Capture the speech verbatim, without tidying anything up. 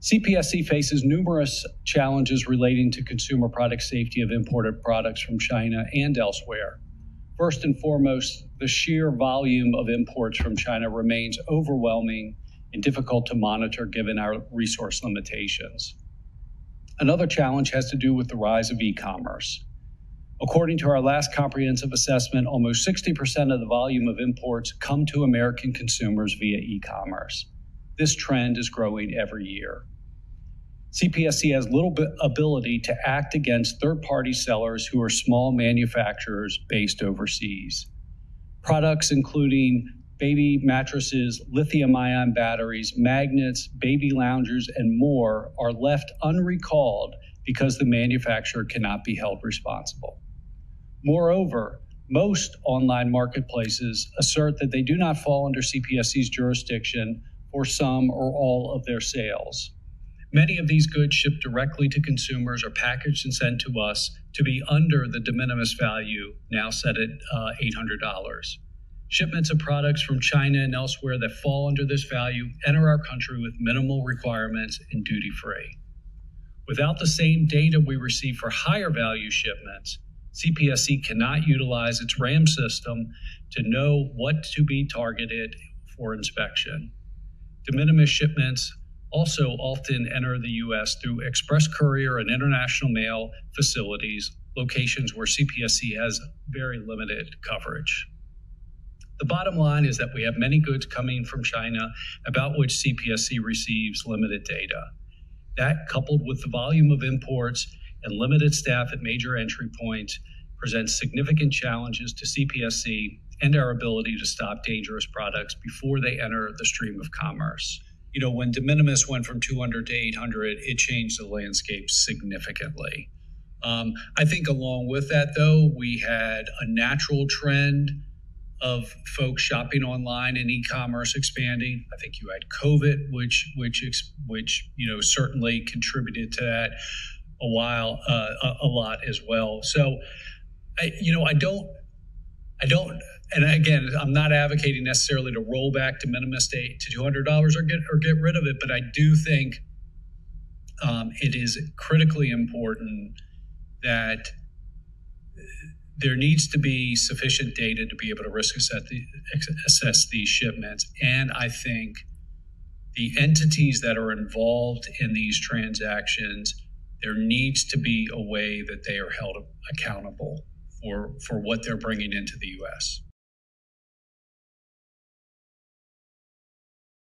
C P S C faces numerous challenges relating to consumer product safety of imported products from China and elsewhere. First and foremost, the sheer volume of imports from China remains overwhelming and difficult to monitor given our resource limitations. Another challenge has to do with the rise of e-commerce. According to our last comprehensive assessment, almost sixty percent of the volume of imports come to American consumers via e-commerce. This trend is growing every year. C P S C has little ability to act against third-party sellers who are small manufacturers based overseas. Products including baby mattresses, lithium-ion batteries, magnets, baby loungers, and more are left unrecalled because the manufacturer cannot be held responsible. Moreover, most online marketplaces assert that they do not fall under C P S C's jurisdiction for some or all of their sales. Many of these goods shipped directly to consumers are packaged and sent to us to be under the de minimis value, now set at uh, eight hundred dollars. Shipments of products from China and elsewhere that fall under this value enter our country with minimal requirements and duty-free. Without the same data we receive for higher value shipments, C P S C cannot utilize its RAM system to know what to be targeted for inspection. De minimis shipments also often enter the U S through express courier and international mail facilities, locations where C P S C has very limited coverage. The bottom line is that we have many goods coming from China about which C P S C receives limited data. That, coupled with the volume of imports and limited staff at major entry points, presents significant challenges to C P S C and our ability to stop dangerous products before they enter the stream of commerce. You know, when de minimis went from two hundred to eight hundred, it changed the landscape significantly. Um, I think along with that, though, we had a natural trend of folks shopping online and e-commerce expanding. I think you had COVID, which which which you know certainly contributed to that a while uh, a, a lot as well. So, I, you know, I don't, I don't, and again, I'm not advocating necessarily to roll back de minimis to, to two hundred dollars or get or get rid of it, but I do think um, it is critically important that there needs to be sufficient data to be able to risk assess, the, assess these shipments. And I think the entities that are involved in these transactions, there needs to be a way that they are held accountable for, for what they're bringing into the U S